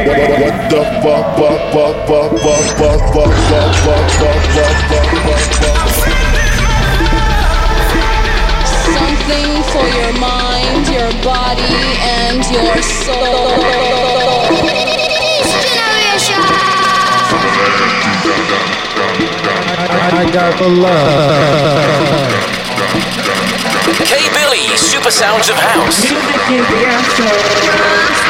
Something for your mind, your body, and your soul. I got the love. K Billy, Super Sounds of House. Music is the answer.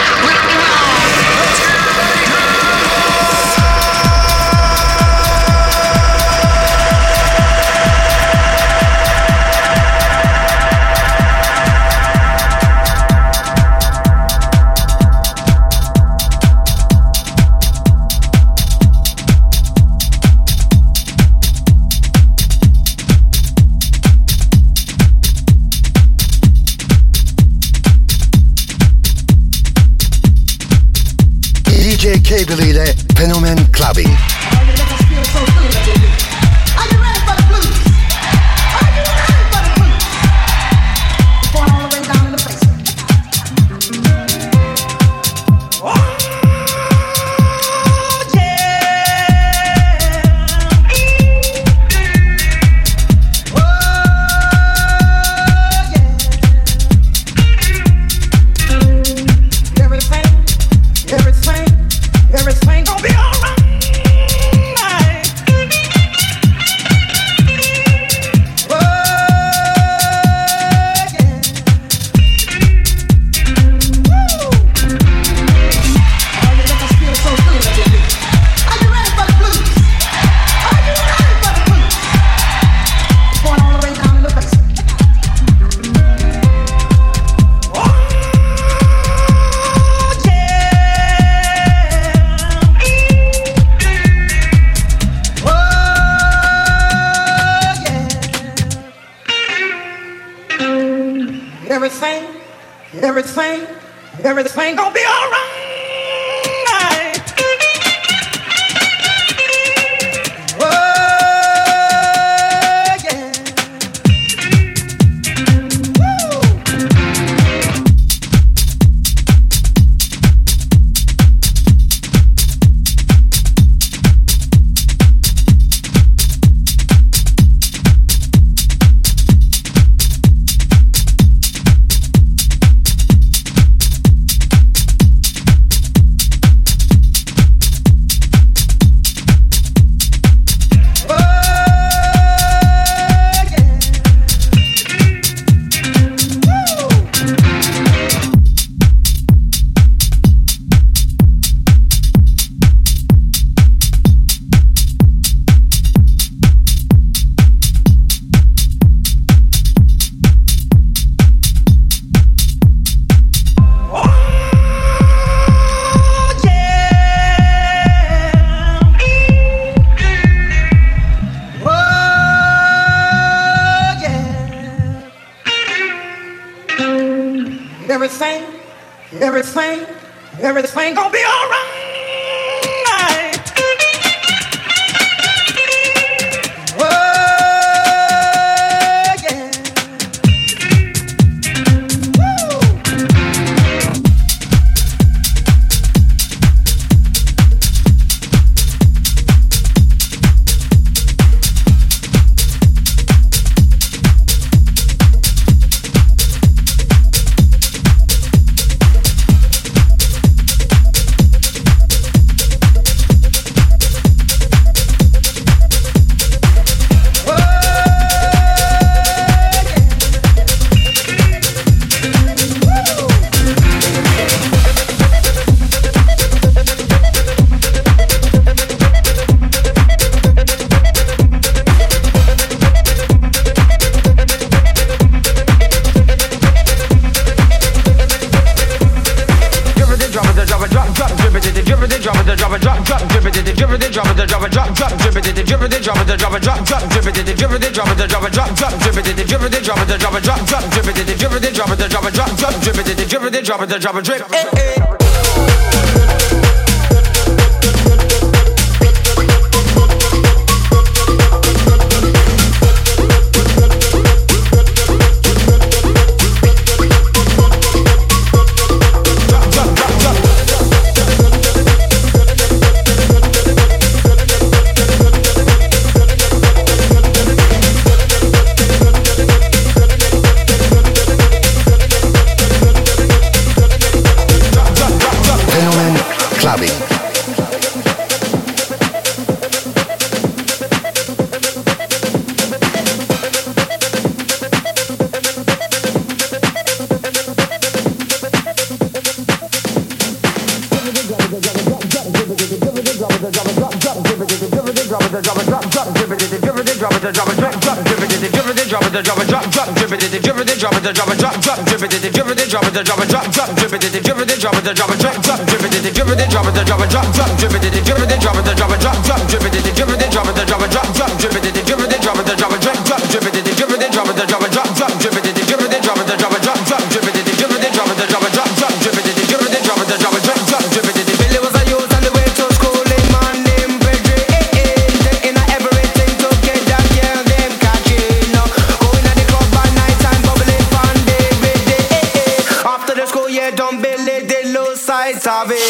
K Billy ile Fenomen Clubbing. Everything gonna be alright. Everything gonna be alright. Everything gonna be alright. Drop a drip. drop it, drop, drop, drip it, drip it, drop it, drop it, drop, drop, drip it, drip it, drop it, drop it, drop, drop, drip it, drip it, drop it, drop it, drop, drop, drip it, drip it, drop it, drop it, drop, drop, drip it, drip it, drop it, drop it, drop, drop, drip it, drip it, drop it, drop it, drop, drop, drip it, drip it, drop it, drop it, drop, drop, drip it, drip it, drop it, drop it, drop, drop, drip it, drip it, drop it, drop it, drop, drop, drip it, drip it, drop it, drop it, drop, drop, drip it, drip it, drop it, drop it, drop, drop, drip it, drip it, drop it, drop it, drop, drop, drip it. Billy was a youth on the way to school in man named Pedro. In everything to get that girl them catching. Going at the club at night and bubbling fun day with day. After the school year done, Billy did lose sight of him.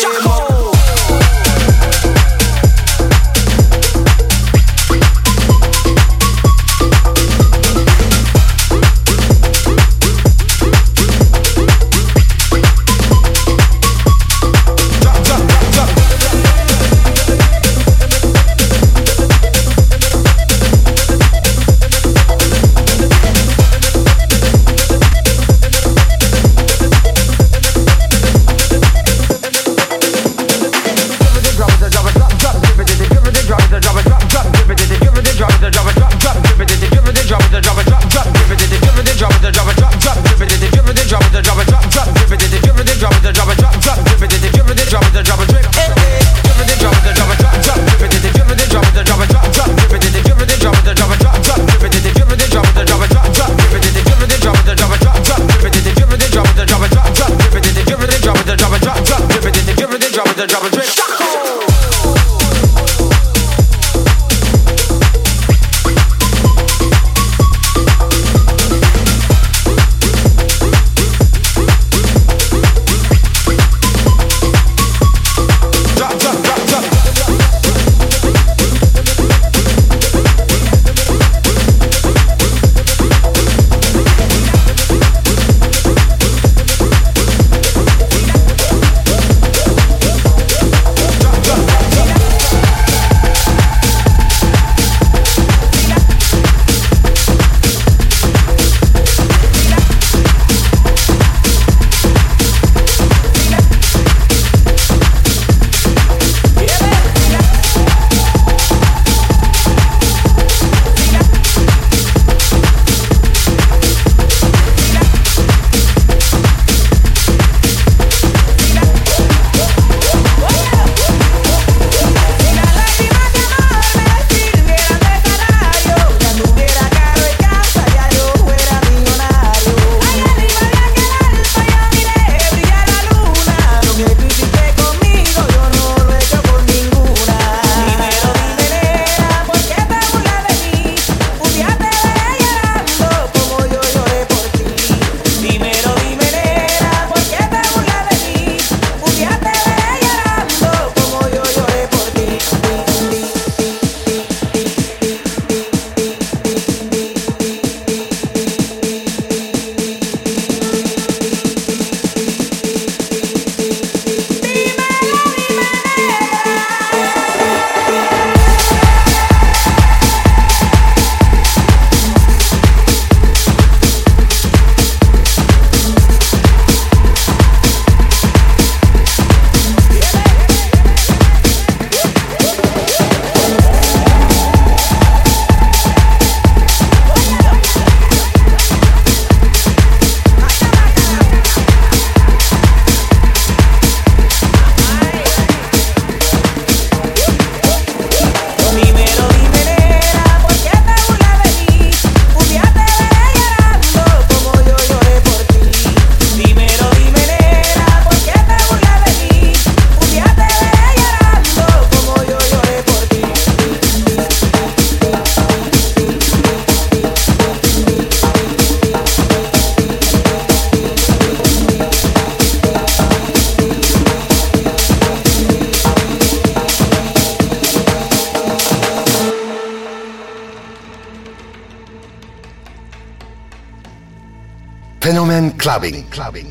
Fenomen Clubbing.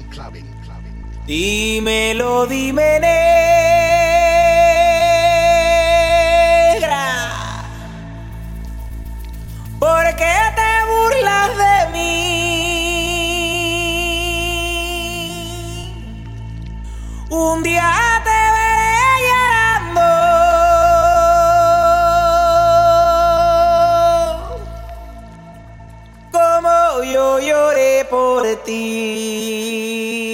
Dímelo, dime negra, ¿por qué te burlas de mí? Un día te veré llorando yo lloré por ti.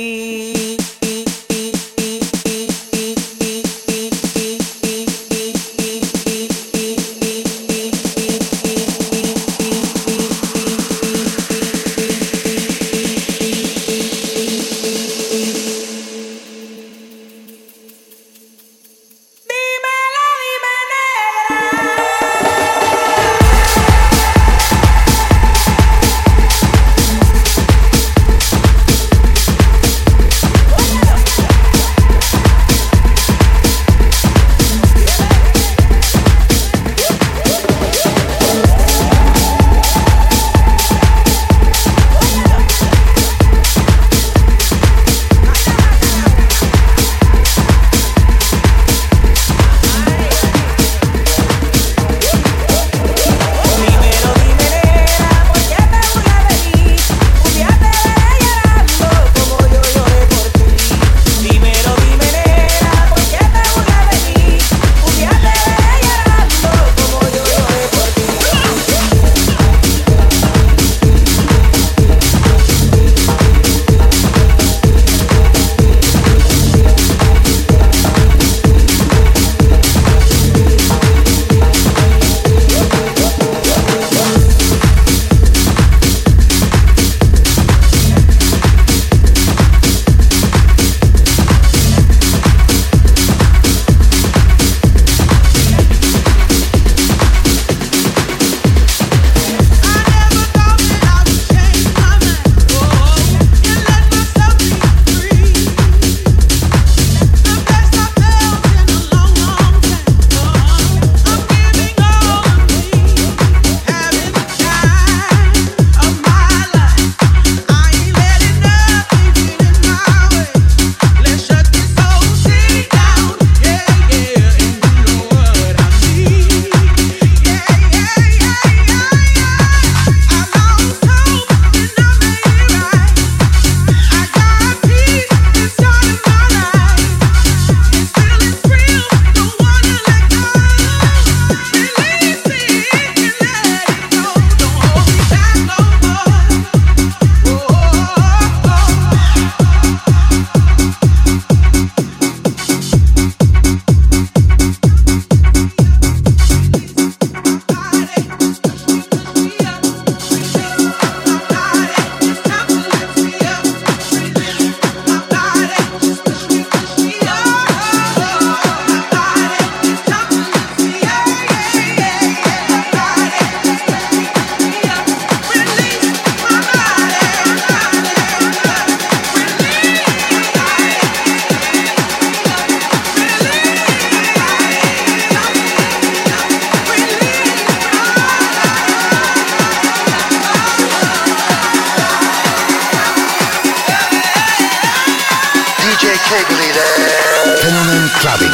Fenomen Clubbing.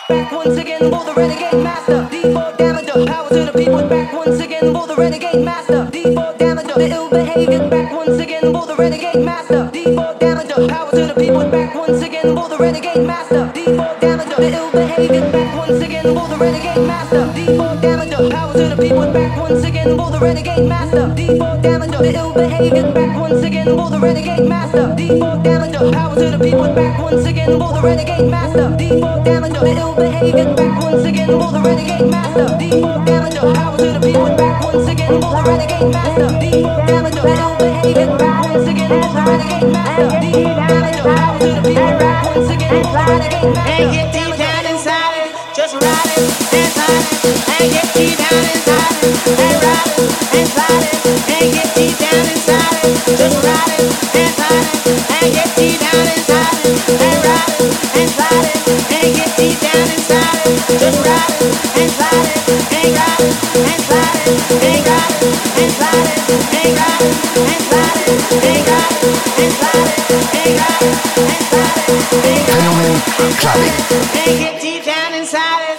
back once again for the renegade master. D4 damager, power to the people. Back once again for the renegade master. D4 damager, the ill behavior. Back once again for the renegade master. D4 damager, power to the people. Back once again for the renegade master. D4 damager, the ill behavior. Back once again for the renegade master. D4 damager, power to the people. Back once again for the renegade master. D4 damager, the ill behavior. Back once again for the renegade master. D4 damager, power to the people. Back once again for the renegade master. D4 damager, the ill behavior. Back once again for the renegade master. D4 damager, power to the people. Back once again for the renegade master. D4 damager, the ill behavior. Back once again for the renegade master. D4 damager, power to the people. Back once again for the renegade master. And get deep down inside it, just ride it and slide it. And get deep down inside it, and ride it and slide it. And get deep down inside it, just ride it and slide it. And get deep down inside it, and ride it and slide it. And get deep down inside it, just ride it and slide it. And ride it and slide it, and ride it and slide it, and ride it and slide it, and ride it and slide it, and ride it and slide it, and Fenomen Clubbing. and get deep down inside it.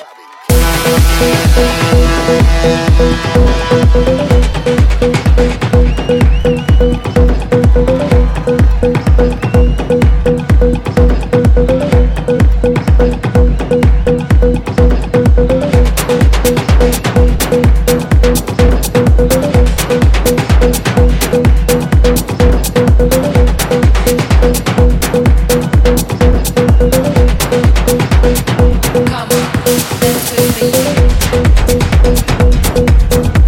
Come on, dance with me.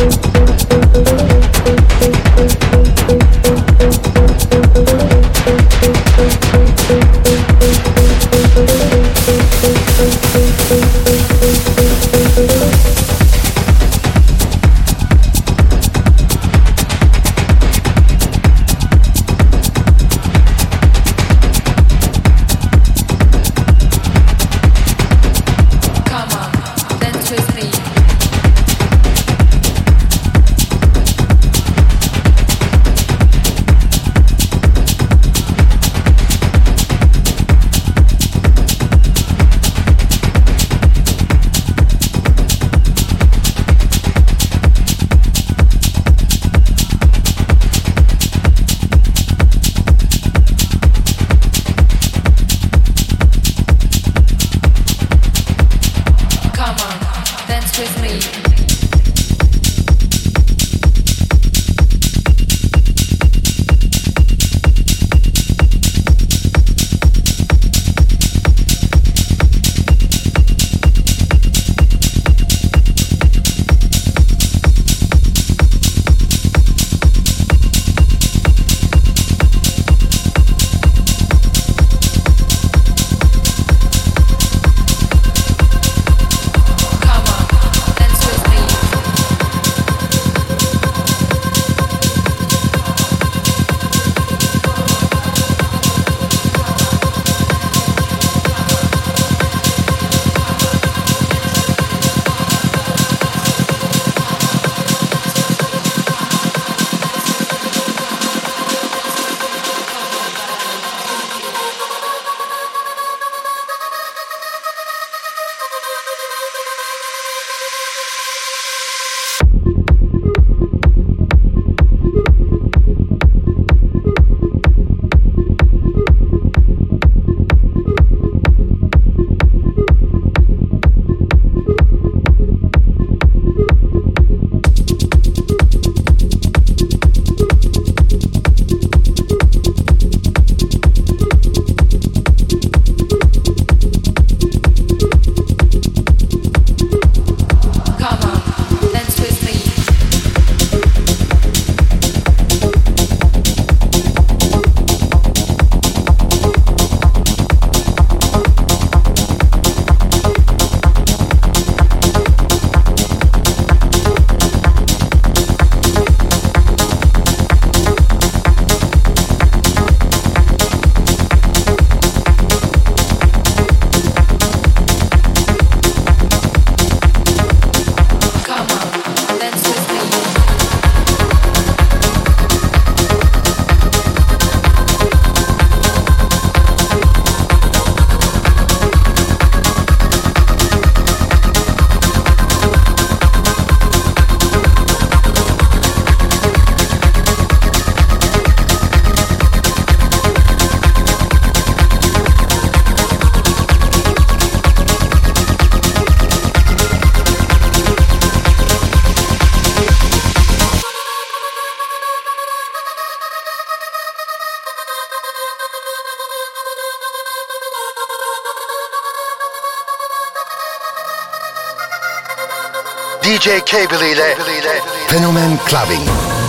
DJ K-Billy ile Fenomen Clubbing.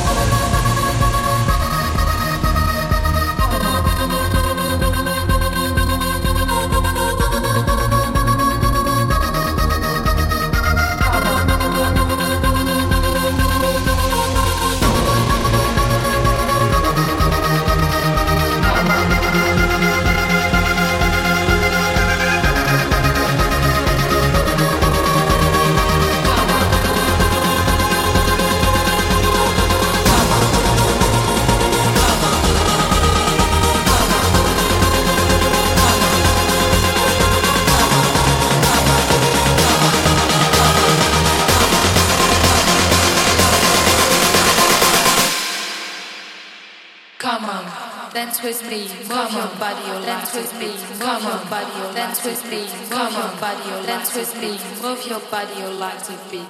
Dance with me, move your body, your dance with me, move your body, your dance with me, move your body, your dance with me, move your body, your life to be.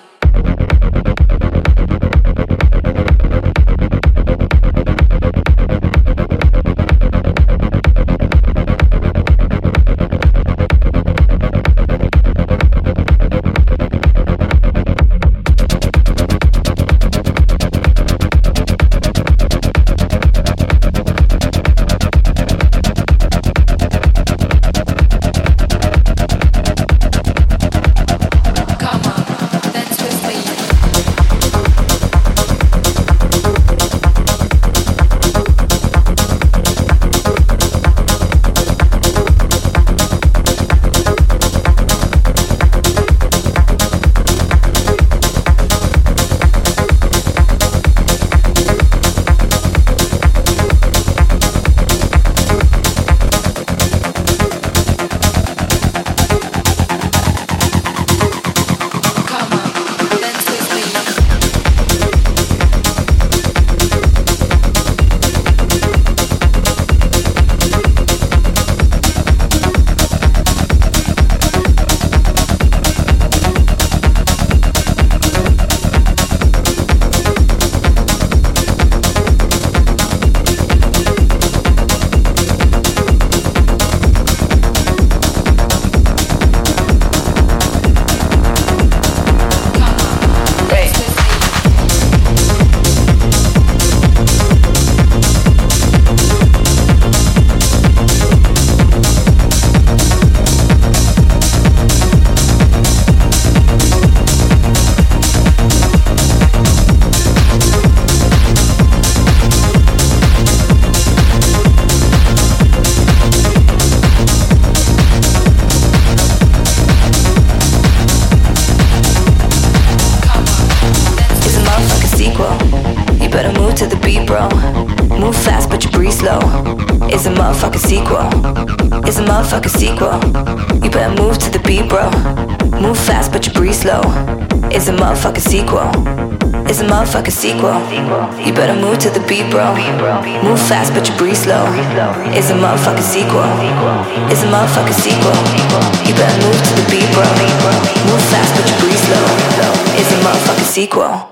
Motherfucking sequel. You better move to the beat, bro. Move fast, but you breathe slow. It's a motherfucking sequel. It's a motherfucking sequel. You better move to the beat, bro. Move fast, but you breathe slow. It's a motherfucking sequel. It's a motherfucking sequel. You better move to the beat, bro. Move fast, but you breathe slow. It's a motherfucking sequel.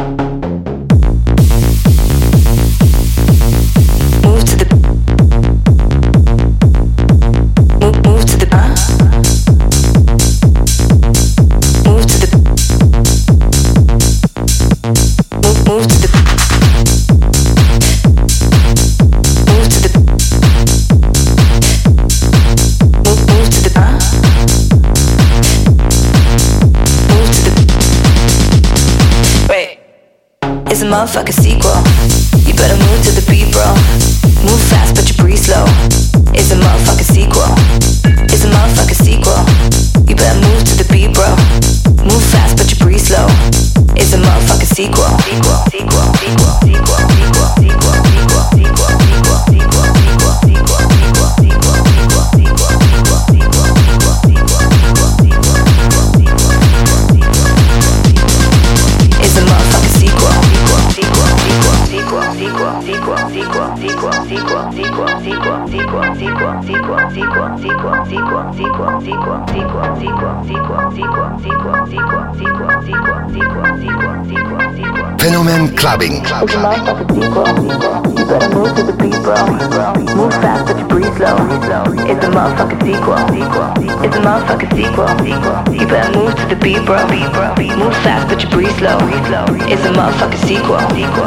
It's a motherfucking sequel. You better move to the beat, bro. Move fast, but you breathe slow. It's a motherfucking sequel. It's a motherfucking sequel. You better move to the beat, bro. Move fast, but you breathe slow. It's a motherfucking sequel. Sequel, sequel, sequel, sequel, sequel, sequel, sequel, sequel, sequel, sequel, sequel, sequel, sequel, sequel, sequel, sequel, sequel, sequel, it's a motherfucking sequel. Fenomen Clubbing. It's a motherfucking sequel. better move to the beat, bro. Move fast, but you breathe slow. It's a motherfucking sequel. It's a motherfucking sequel. You better move to the beat, bro. Move fast, but you breathe slow. It's a motherfucking sequel.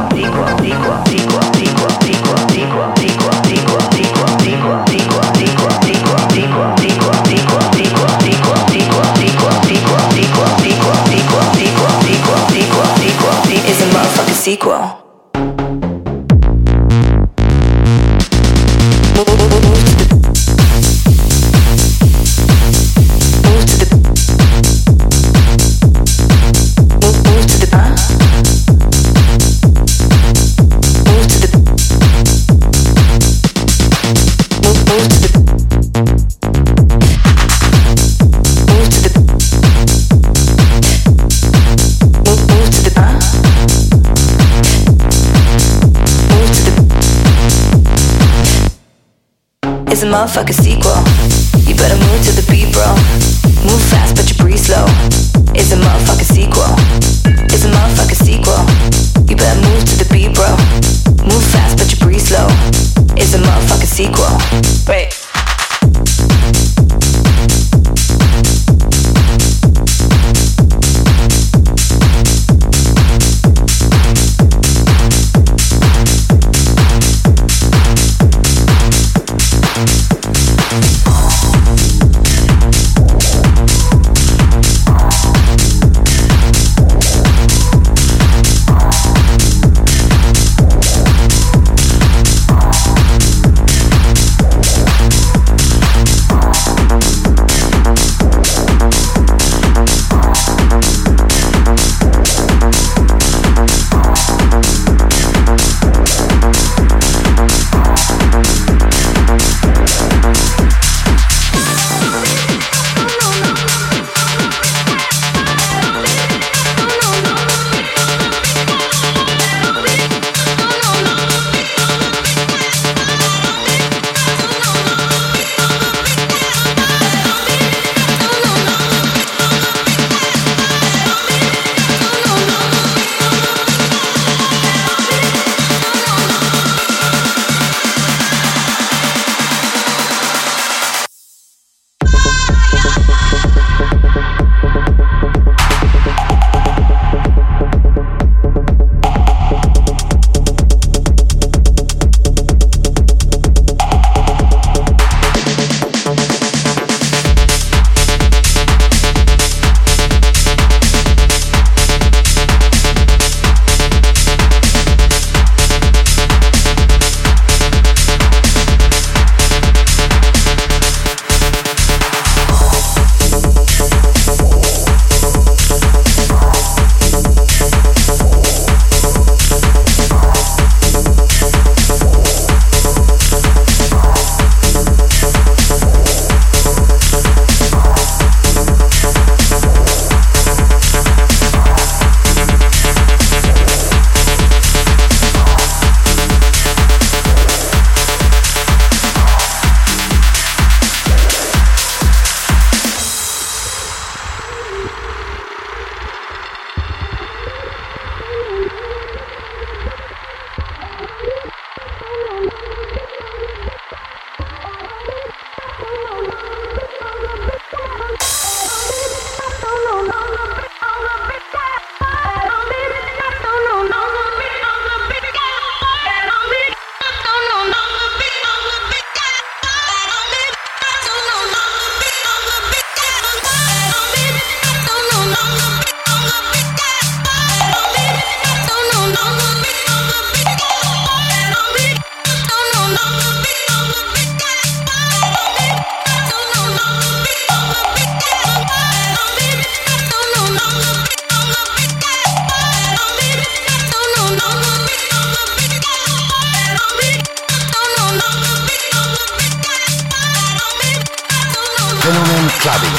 It's a motherfucking sequel. It's a motherfucking sequel. You better move to the beat, bro. Move fast, but you breathe slow. It's a motherfucking sequel. It's a motherfucking sequel. You better move to the beat, bro. Move fast, but you breathe slow. It's a motherfucking sequel. Wait. Fenomen Clubbing.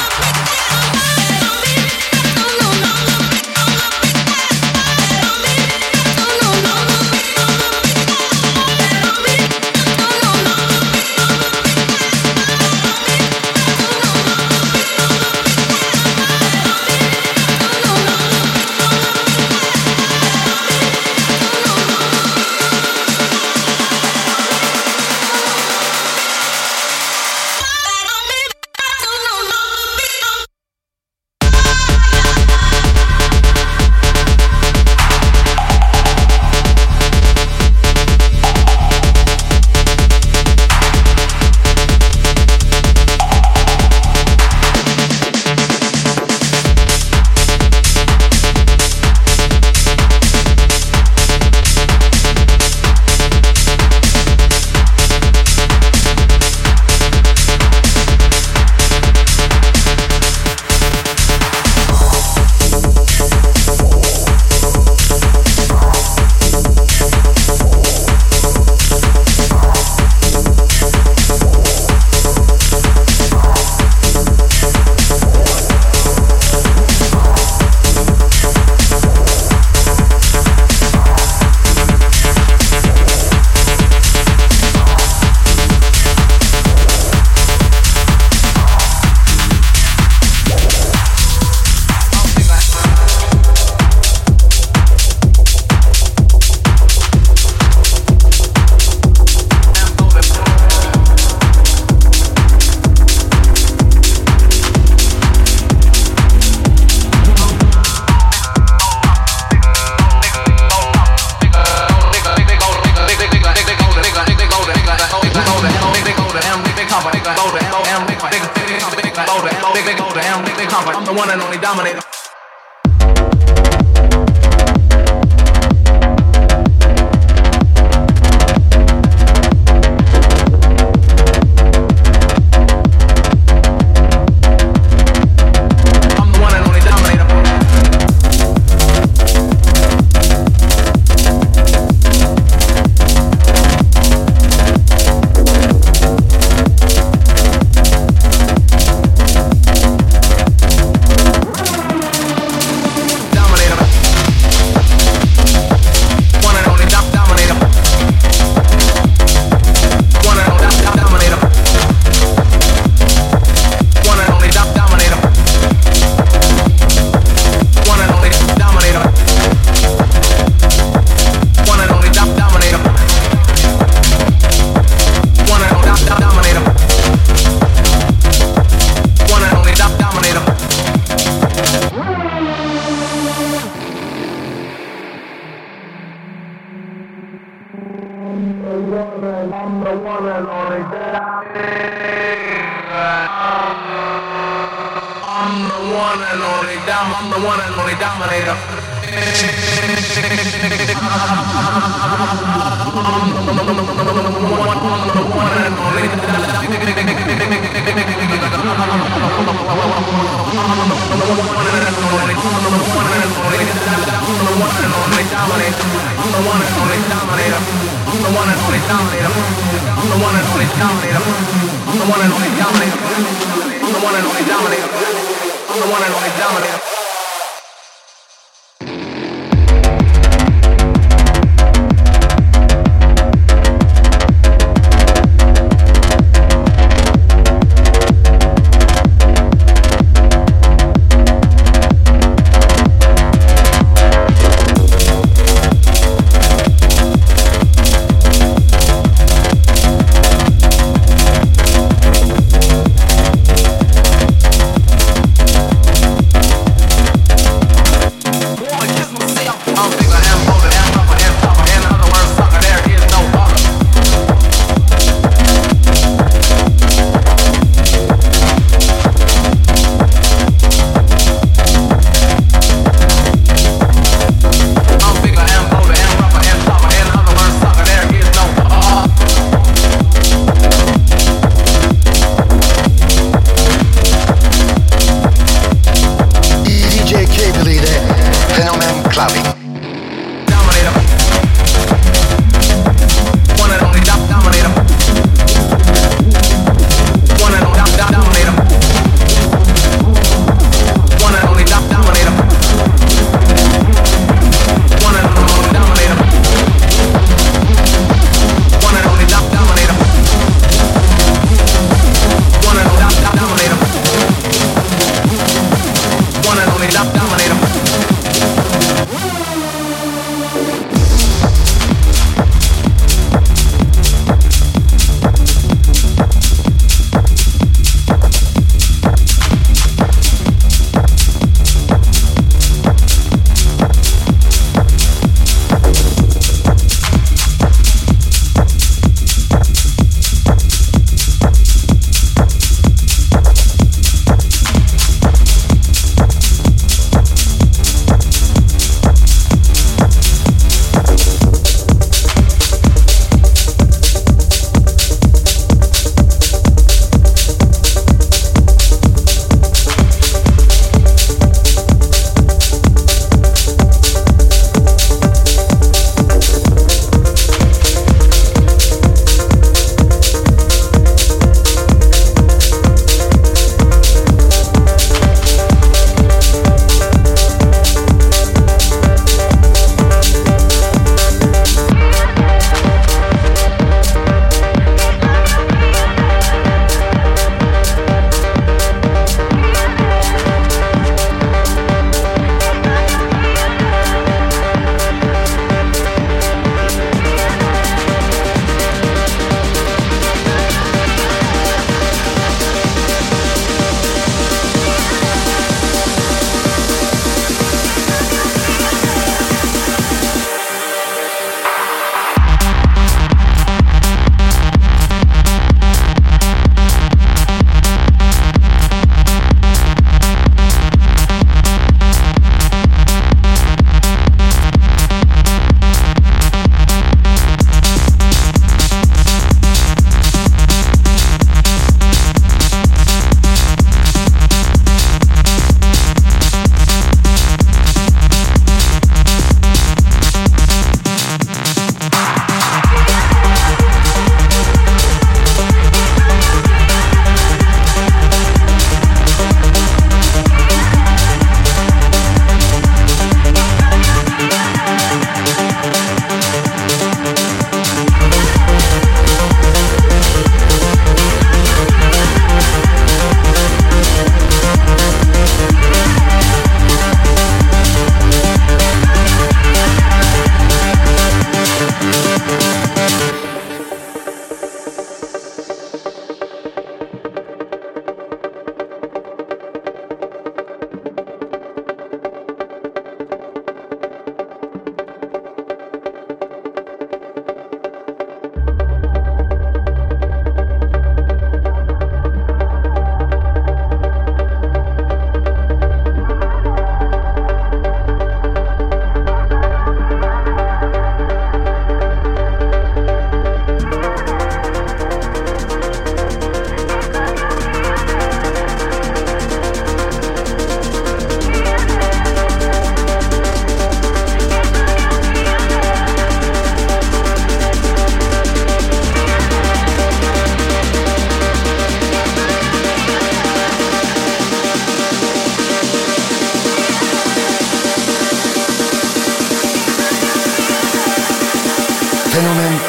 I'm the one and only dominator.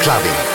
Clubbing.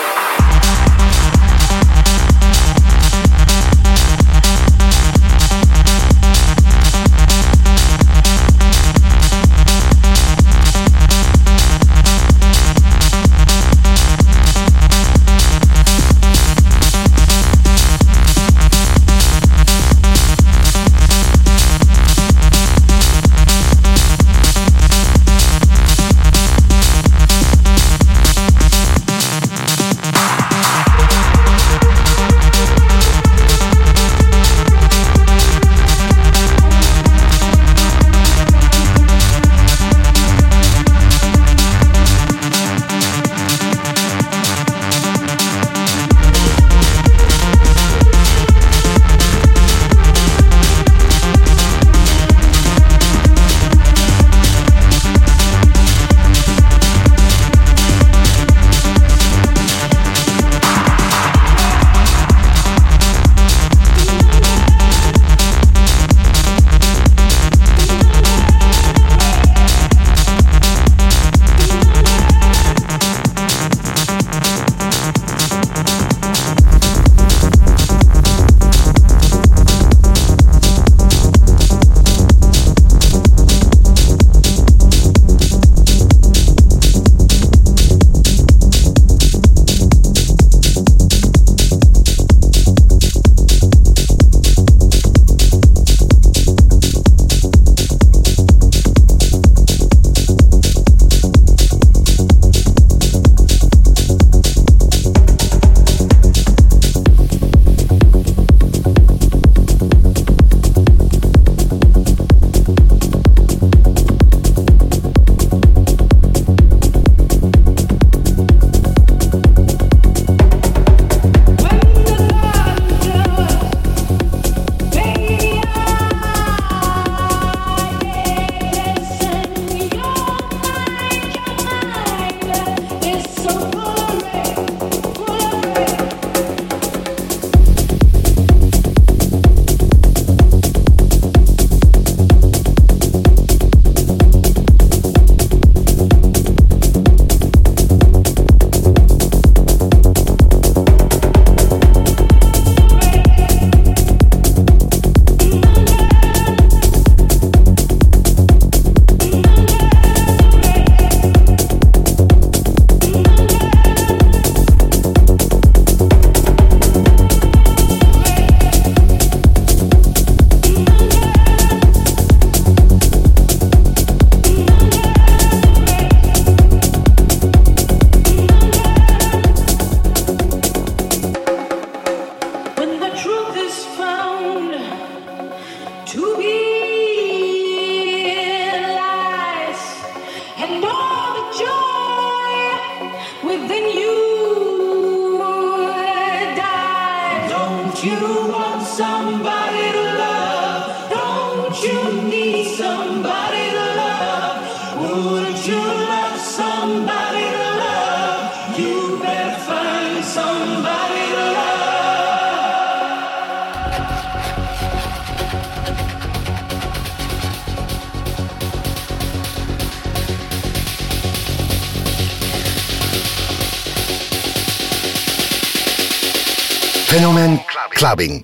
Fenomen Clubbing.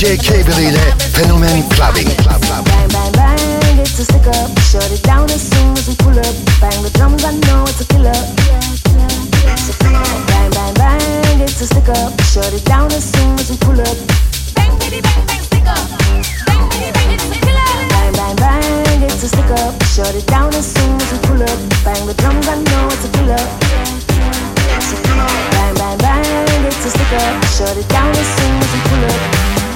DJ K-Billy ile Fenomen Clubbing. Bang, bang, bang, it's a stick up. Shut it down as soon as we pull up. Bang the drums, I know it's a killer. Bang, bang, bang, it's a stick up. Shut it down as soon as we pull up. Bang, bitty, bang, bang, stick up. Bang, bitty, bang, it's a killer. Bang, bang, bang, it's a stick up. Shut it down as soon as we pull up. Bang the drums, I know it's a killer. Bang, bang, bang, it's a stick up. Shut it down as soon as we pull up.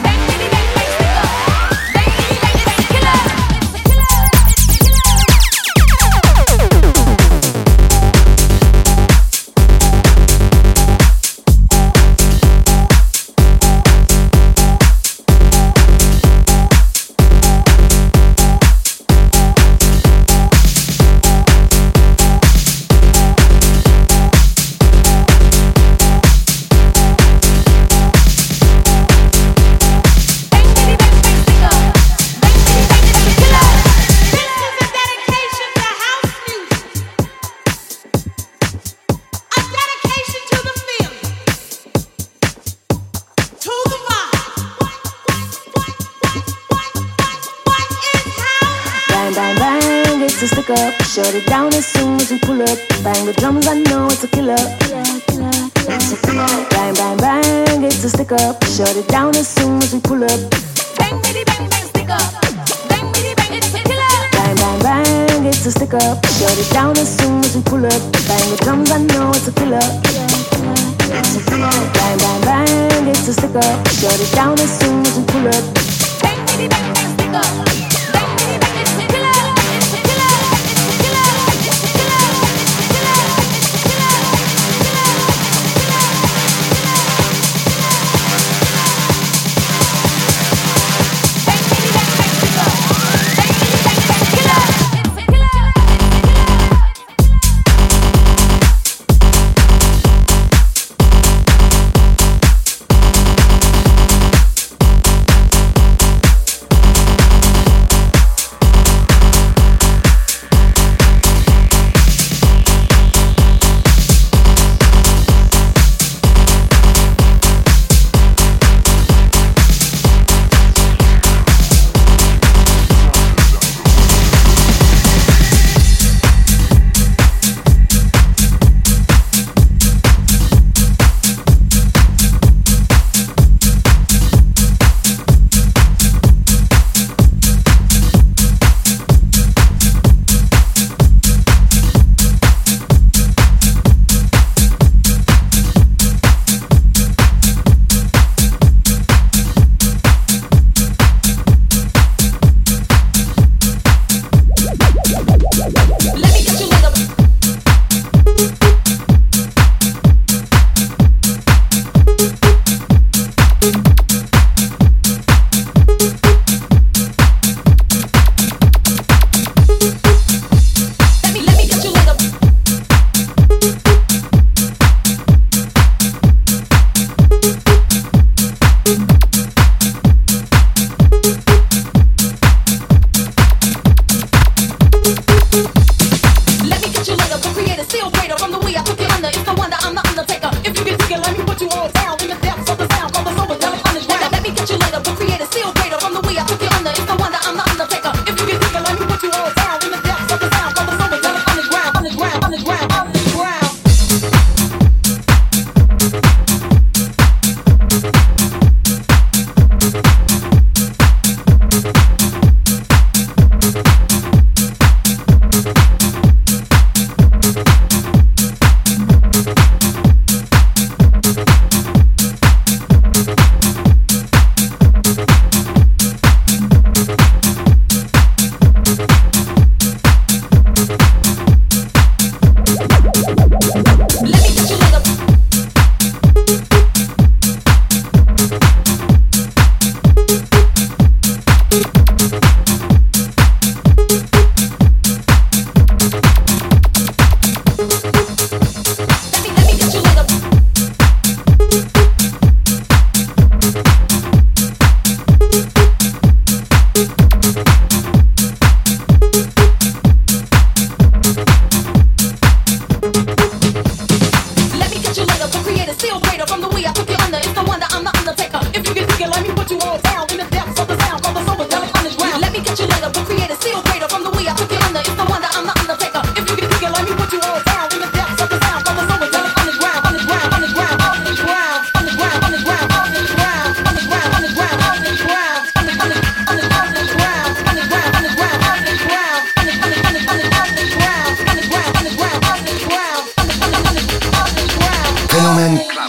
Shut it down as soon as we pull up. Bang the drums, I know it's a killer. Bang, bang, bang, it's a stick up. Shut it down as soon as we pull up. Bang, bitty, bang, bang, stick up. Bang, bitty, bang, it's a killer. Bang, bang, bang, it's a stick up. Shut it down as soon as we pull up. Bang the drums, I know it's a killer. Bang, bang, bang, it's a stick up. Shut it down as soon as we pull up. Bang, bitty, bang, bang, stick up.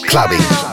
Clubbing.